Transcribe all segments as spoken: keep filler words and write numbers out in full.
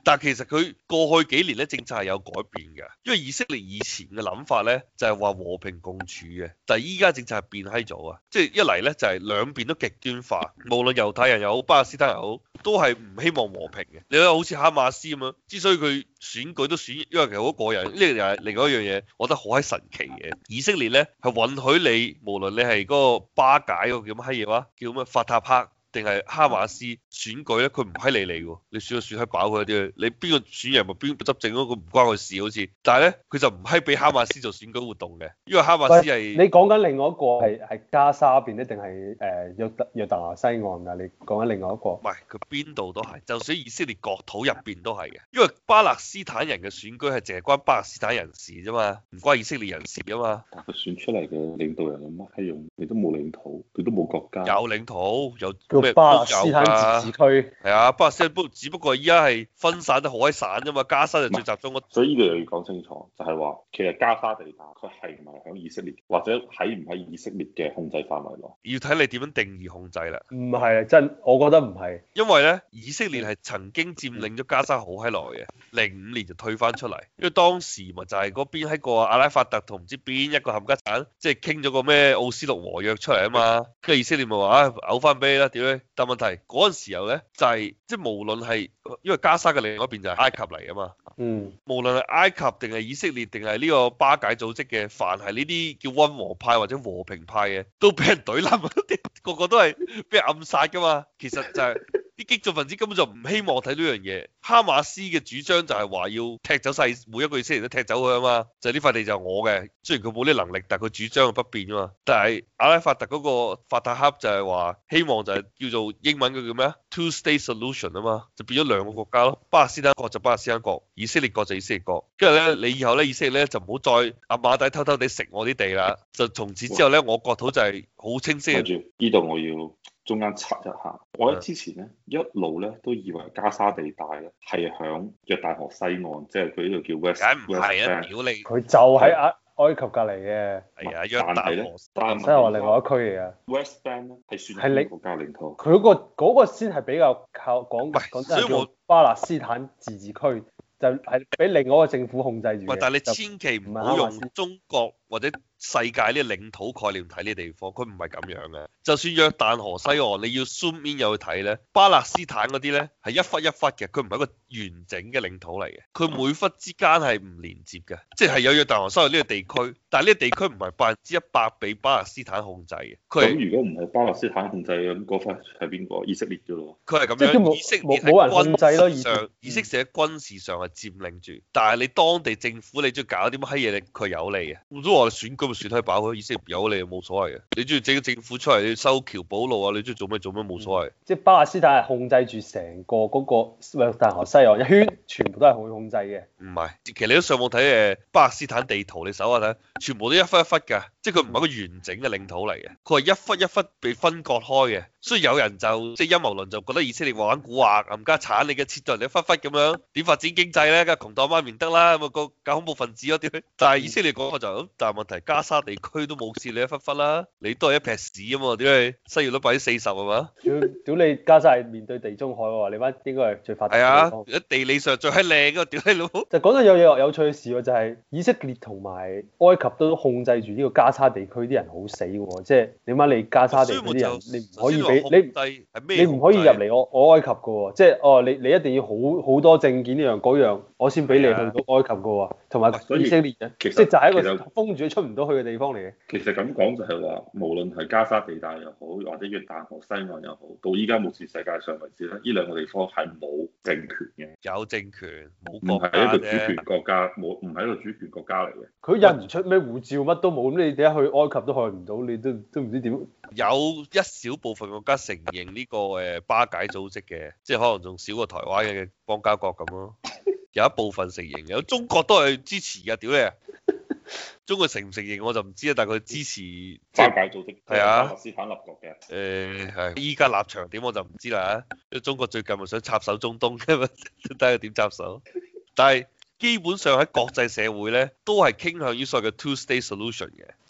但係其實佢過去幾年咧政策係有改變嘅，因為以色列以前嘅諗法咧就係話和平共處嘅，但係依家政策係變閪咗啊！即係一嚟咧就係兩邊都極端化，無論猶太人又好，巴勒斯坦又好，都係唔希望和平嘅。你睇好似哈馬斯咁樣，之所以佢選舉都選，因為其實好個人，呢個又係另外一樣嘢，我覺得好閪神奇嘅。以色列咧係允許你，無論你係嗰個巴解嗰個叫乜閪嘢話，叫咩法塔赫，定係哈馬斯選舉咧，佢唔閪理你喎，你選就選閪飽佢啲，你邊個選人咪邊個執政咯，佢唔關佢事好似。但係咧，佢就唔閪俾哈馬斯做選舉活動嘅，因為哈馬斯係你講緊另外一個係係加沙邊咧，定係誒約約旦河西岸㗎？你講緊另外一個？ 唔係，佢邊度都係，就算以色列國土入邊都係嘅，因為巴勒斯坦人嘅選舉係淨係關巴勒斯坦人士啫嘛，唔關以色列人士啊嘛。 但佢選出嚟嘅領導人有乜閪用？你都冇領土，佢都冇國家。 有領土，有叫巴勒斯坦自治區。 係啊，巴勒斯坦不只不過依家係分散得好閪散啫嘛，加沙就最集中。 所以呢個又要講清楚，就係話其實加沙地帶佢係唔係響以色列，或者喺唔喺以色列嘅控制範圍內？ 要睇你點樣定義控制啦。 唔係真，我覺得唔係。 因為咧，以色列係曾經佔領咗加沙好閪耐嘅，零五年就退翻出嚟，因為當時咪就係嗰邊喺個阿拉法特同唔知邊一個冚家鏟，即係傾咗個咩奧斯陸和約出嚟啊嘛，跟住以色列咪話啊嘔翻俾你啦，屌你！但問題嗰陣時候咧就係、是、即係無論係因為加沙嘅另外一邊就係埃及嚟啊嘛， 嗯，無論係埃及定係以色列定係呢個巴解組織嘅，凡係呢啲叫溫和派或者和平派嘅，都俾人懟冧，個個都係俾人暗殺噶嘛。其實就係、是、啲激進分子根本就唔希望睇呢樣嘢。哈馬斯嘅主張就係話要踢走晒每一個以色列都踢走佢啊嘛，就係呢塊地就係我嘅。雖然佢冇呢能力，但係佢主張係不變啊嘛。但係阿拉法特嗰個法塔赫就係話希望就係叫做英文嘅叫咩啊 Two State Solution 啊嘛，就變咗兩個國家咯。巴勒斯坦國就巴勒斯坦國，以色列國就以色列國。跟住咧，你以後咧以色列咧就唔好再阿馬底偷偷地食我啲地啦。就從此之後咧，我國土就係好清晰。 跟住呢度我要中間插一下，我喺之前咧一路咧都以為加沙地帶咧係響約旦河西岸，即係佢呢度叫 West。 梗唔係啊，屌你！ 佢就喺埃埃及隔離嘅。 係啊，約旦河。 但係係話另外一區嚟啊。 West Bank 咧係算係你國家領土。 佢嗰個嗰個先係比較靠講講真係叫巴勒斯坦自治區，就係俾另外一個政府控制住嘅。 喂，但係你千祈唔好用中國或者世界呢個領土概念睇呢啲地方，佢唔係咁樣嘅。就算約旦河西岸，你要 zoom in 入去睇咧，巴勒斯坦嗰啲咧係一忽一忽嘅，佢唔係一個完整嘅領土嚟嘅，佢每忽之間係唔連接嘅，即係有約旦河西岸呢個地區，但係呢個地區唔係百分之一百被巴勒斯坦控制嘅。 咁如果唔係巴勒斯坦控制嘅，咁嗰忽係邊個？以色列啫咯。 佢係咁樣，以色列係冇人控制咯。 上以色列喺軍事上係佔領住，但係你當地政府你中意搞啲乜閪嘢，佢有利嘅。咁都話你選舉咪選閪飽佢，以色列有利冇所謂嘅。你中意整個政府出嚟，你修橋補路啊，你中意做咩做咩冇所謂。 嗯、即係巴勒斯坦係控制住成個嗰個約旦河西岸一圈，全部都係佢控制嘅。 唔係，其實你都上網睇誒巴勒斯坦地圖，你搜下睇，全部都一忽一忽㗎，即係佢唔係一個完整嘅領土嚟嘅，佢係一忽一忽被分割開嘅。所以有人就即係陰謀論就覺得以色列玩蠱惑，冚家鏟你嘅切到人哋一忽忽咁樣，點發展經濟咧？梗係窮到媽咪唔得啦，咁、那、啊個搞恐怖分子咯點？但係以色列講嘅就咁，但係問題加沙地區都冇事你一忽忽啦，你都係一撇屎啊嘛？點解失業率百分之四十係嘛？ 屌屌你加沙係面對地中海喎，你班應該係最發達嘅地方。 係啊，地理上最係靚嘅，屌你老母！ 就講得有嘢有趣嘅事喎，就係、是、以色列同埋埃及都控制住呢個加沙地區啲人好死喎，即係點解你加沙地區啲人你唔可以俾你你唔可以入嚟我我埃及嘅喎，即係哦你你一定要好好多證件呢樣嗰樣，我先俾你去到埃及嘅喎，同埋以色列人，即係就係一個封住出唔到去嘅地方嚟嘅。 其實咁講就係話，無論係加沙地帶又好，或者約旦河西岸又好，到依家目前世界上為止咧，呢兩個地方係冇政權嘅。 有政權，冇唔係一個主權國家，冇唔係一個主權國家嚟嘅。 佢印唔出咩護照，乜都冇，咁你點解去埃及都去唔到？你都都唔知點。 有一小部分國家承認呢個誒巴解組織嘅，即係可能仲少過台灣嘅邦交國咁咯。有一部分承認，有中國都係支持嘅，屌你啊！中國承唔承認我就唔知啊，但係佢支持巴解組織係啊， 巴勒斯坦立國嘅。 誒係，依家立場點我就唔知啦。因為中國最近咪想插手中東嘅嘛，睇下點插手。但係基本上喺國際社會咧，都係傾向於所謂嘅 two state solution 嘅。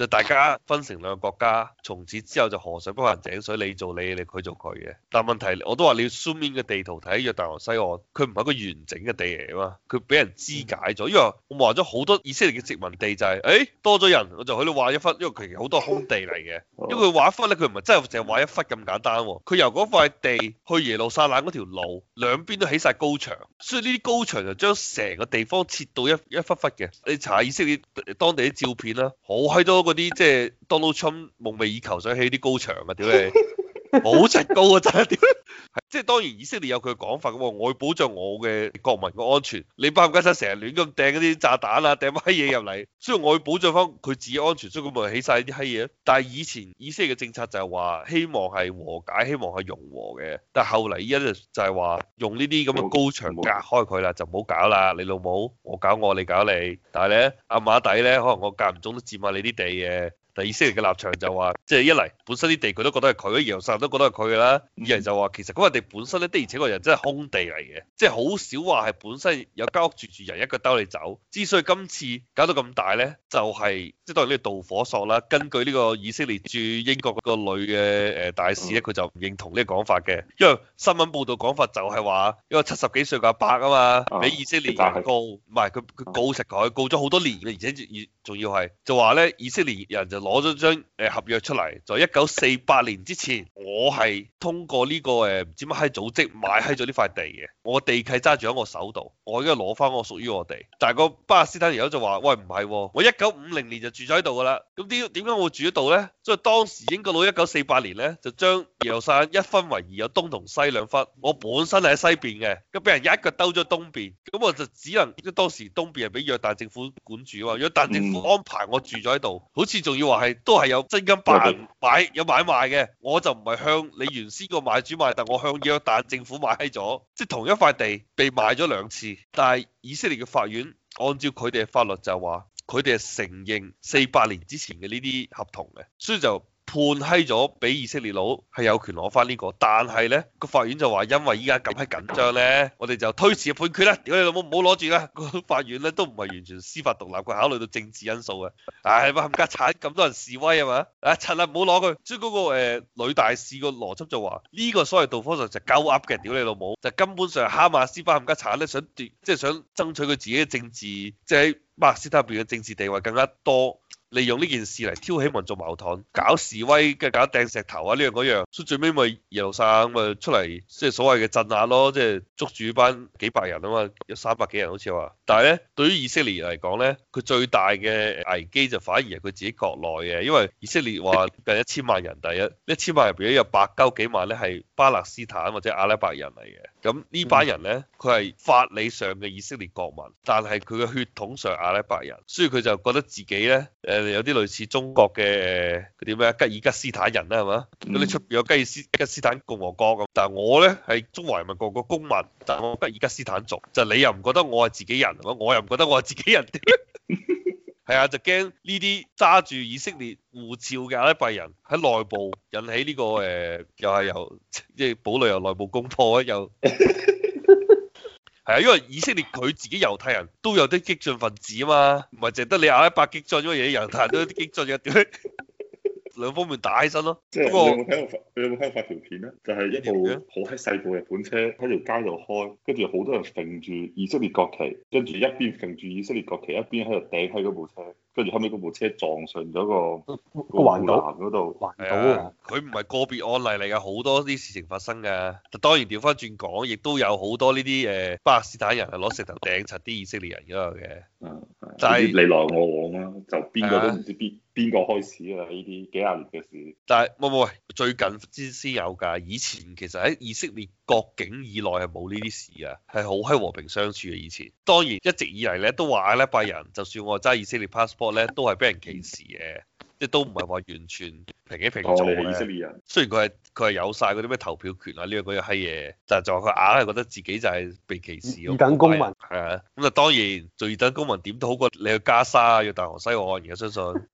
就大家分成兩個國家，從此之後就河水不犯井水，你做你，你佢做佢嘅。但問題我都話你要 zoom in 嘅地圖睇約旦河西岸，佢唔係一個完整嘅地嚟啊嘛，佢俾人肢解咗。因為我話咗好多以色列嘅殖民地就係、是，誒、欸、多咗人我就喺度劃一忽，因為佢其實好多空地嚟嘅。因為佢劃一忽咧，佢唔係真係淨係劃一忽咁簡單喎，佢由嗰塊地去耶路撒冷嗰條路兩邊都起晒高牆，所以呢啲高牆就將成個地方切到一一忽忽嘅。你查下以色列當地啲照片啦，好閪多嗰啲即係 Donald Trump 夢寐以求想起啲高牆啊！屌你，好直高啊真係屌！即係當然以色列有佢嘅講法嘅喎，我要保障我嘅國民嘅安全。你巴格沙成日亂咁掟嗰啲炸彈啊，掟乜閪嘢入嚟，所以我要保障翻佢自己安全，所以佢咪起晒啲閪嘢。但係以前以色列嘅政策就係話希望係和解，希望係融和嘅。但係後嚟依家就就係話用呢啲咁嘅高牆隔開佢啦，就唔好搞啦。你老母，我搞我，你搞你。但係咧，阿馬底咧，可能我間唔中都佔下你啲地嘅。但以色列嘅立場就話，即係一嚟本身啲地佢都覺得係佢，耶路撒冷都覺得係佢㗎啦。二嚟就話其實嗰個地本身咧的而且確人真係空地嚟嘅，即係好少話係本身有間屋住住人一腳兜你走。之所以今次搞到咁大咧，就係即係當然呢個導火索啦。根據呢個以色列駐英國嗰個女嘅誒大使咧，佢就唔認同呢個講法嘅，因為新聞報道講法就係話一個七十幾歲嘅阿伯啊嘛，俾以色列人告，唔係佢佢告實佢，告咗好多年嘅，而且仲要係就話咧以色列人就攞咗張誒合約出嚟，在一九四八年之前，我係通過呢個誒唔知乜閪組織買閪咗呢塊地嘅，我地契揸住喺我手度，我應該攞翻我屬於我地。但係個巴勒斯坦友就話：喂唔係喎，我一九五零年就住咗喺度㗎啦。咁點點解我會住喺度咧？所以當時英國佬一九四八年咧就將耶路撒冷一分為二，有東同西兩忽。我本身係喺西邊嘅，咁俾人一腳兜咗東邊，咁我就只能即係當時東邊係俾約旦政府管住啊嘛，約旦政府安排我住咗喺度，好似仲要話係都係有真金白銀買有買賣嘅，我就唔係向你原先個買主買，但我向約旦政府買咗，即係同一塊地被賣咗兩次。但係以色列嘅法院按照佢哋嘅法律就話，佢哋係承認四八年之前嘅呢啲合同嘅，所以就判閪咗俾以色列佬係有權攞翻呢個。但係咧個法院就話，因為依家咁閪緊張咧，我哋就推遲判決啦。屌你老母，唔好攞住啦！個法院咧都唔係完全司法獨立，佢考慮到政治因素嘅。唉，冚家鏟咁多人示威啊嘛，啊柒啦，唔好攞佢。所以嗰、那個誒、呃、女大使個邏輯就話，呢、這個所謂導火索就鳩噏嘅，屌你老母，就是、根本上哈馬斯巴冚家鏟咧想奪，即、就、係、是、想爭取佢自己嘅政治，即係喺巴勒斯坦入邊嘅政治地位更加多。利用呢件事嚟挑起民族矛盾，搞示威嘅，搞掟石頭啊呢樣嗰樣，所以最尾咪耶路撒冷咪出嚟，即係所謂嘅鎮壓咯，即係捉住班幾百人啊嘛，有三百幾人好似話。但係咧，對於以色列嚟講咧，佢最大嘅危機就反而係佢自己國內嘅，因為以色列話近一千萬人，第一一千萬入邊有百鳩幾萬咧係巴勒斯坦或者阿拉伯人嚟嘅，咁呢班人咧佢係法理上嘅以色列國民，但係佢嘅血統上阿拉伯人，所以佢就覺得自己咧誒。有啲類似中國嘅嗰啲咩吉爾吉斯坦人啦，係嘛？咁你出邊有吉爾斯吉斯坦共和國咁，但係我咧係中華人民共和國公民，但係我吉爾吉斯坦族，就你又唔覺得我係自己人，我又唔覺得我係自己人，係啊，就驚呢啲揸住以色列護照嘅阿拉伯人喺內部引起呢、這個誒、呃，又係由即係堡壘由內部攻破啊，又。係啊，因為以色列佢自己猶太人都有啲激進分子啊嘛，唔係淨得你阿拉伯激進，因為嘢猶太人都有啲激進嘅，點兩方面打起身咯。 即係你有冇睇過？你有冇睇過發條片咧？就係、是、一部好閪細部日本車喺條街度開，跟住好多人揈住以色列國旗，跟住一邊揈住以色列國旗，一邊喺度掟喺嗰部車，跟住後尾嗰部車撞上咗個個環島嗰度。環島啊！ 佢唔係個別案例嚟㗎，好多啲事情發生㗎。當然調翻轉講，亦都有好多呢啲誒巴勒斯坦人係攞石頭掟柒啲以色列人嗰度嘅。 嗯，但係你來我往啦，就邊個都唔知邊邊個開始㗎啦，呢啲幾廿年嘅事。但係冇冇，最近先先有㗎。以前其實喺以色列國境以內係冇呢啲事㗎，係好閪和平相處嘅。以前當然一直以嚟咧都話阿拉伯人，就算我揸以色列 passport 咧，都係俾人歧視嘅。即係都唔係話完全平起平坐嘅。 以色列人雖然佢係佢係有晒嗰啲咩投票權啊呢樣嗰樣閪嘢，但係就話佢硬係覺得自己就係被歧視。 二等公民係啊，咁啊當然做二等公民點都好過你去加沙啊，要大河西岸，而家相信。